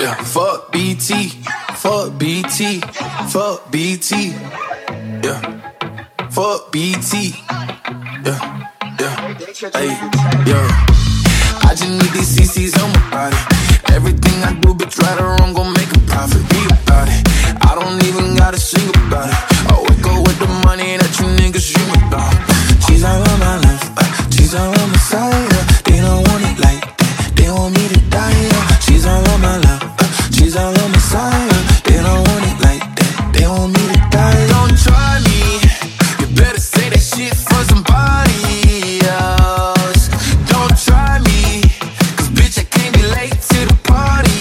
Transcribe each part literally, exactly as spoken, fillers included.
Yeah, fuck B T, fuck B T, fuck B T. Yeah, fuck B T. Yeah, yeah, hey, yeah. I just need these C Cs on my body. Everything I do, bitch, right or wrong, gon' make a profit. Be about it. I don't even gotta sing about it. I wake up with the money that you niggas dream about. She's all on my left, uh, she's all on my side. Uh, they don't want it like that, they want me to die. Uh, she's all on my left, uh, she's all on my side. Uh, they don't want it like that, they want me to die. Don't try me, you better say that shit for somebody else. Don't try me, cause bitch I can't be late to the party.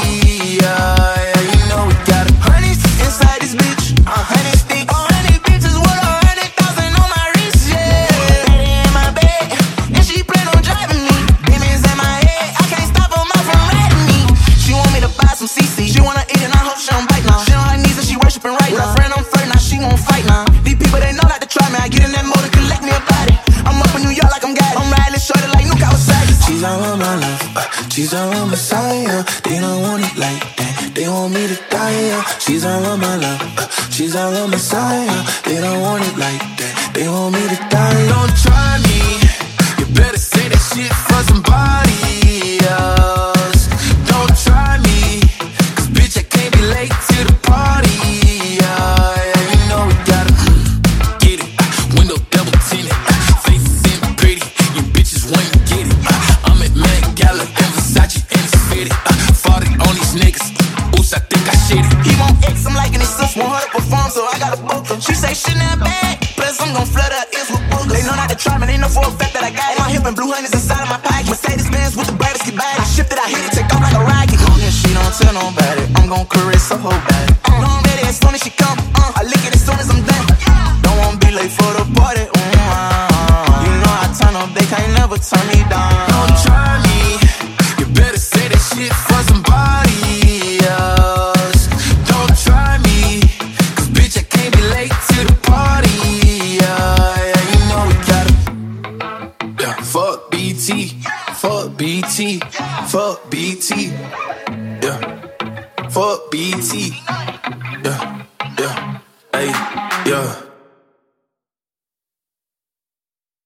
Yeah, yeah, you know we got a honey inside this bitch, a honey sticks. A hundred bitches with a hundred thousand on my wrist, yeah. Betty in my bed, and she plan on driving me. Demons in my head, I can't stop her mouth from riding me. She want me to buy some C C, she wanna eat and I hope she don't bite now. She on her knees and she worshiping right now. With her friend I'm flirting, now she won't fight now. These people they know not to try me, I get in that motor, collect me a body. I'm up in New York like I'm got it. I'm riding shorty like Nuke Kawasaki. She's all on my left, uh, she's all on my side. Uh, they don't want it like that, they want me to die. Uh, she's all on my left, uh, she's all on my side. Uh, they don't want it like that, they want me to die. Don't try me, you better say that shit for somebody else. Don't try me, cause bitch I can't be late to the party. Yeah, yeah, you know we gotta mm, get it. Uh, window double tinted, uh, faces in pretty, you bitches wanna get it. Uh, I'm at Met Gala and Versace and it's fitted. Uh, fought it on these niggas, oops, I think I shit it. He want X, I'm liking his sis, want her to perform, so I gotta book her. She say shit not bad, plus I'm gon' flood her ears with boogers. They know not to try me, they know for a fact that I got it. My hip and blue honey's inside of my pocket. Mercedes Benz with the brightest get body. I shift it, I hit it, take off like a rocket. Long as she don't tell nobody, I'm gon' caress her whole body. Uh, know I'm ready as soon as she come, uh, I lick it as soon as I'm done. Don't wanna be late for the party, mm, uh, you know I turn up, they can't never turn me down. Don't try me, you better say that shit for somebody else. Don't try me, cause bitch I can't be late to the party. Yeah, yeah, you know we gotta. Yeah, fuck B T, fuck B T, fuck B T. Yeah, fuck B T. Yeah, yeah, hey, yeah.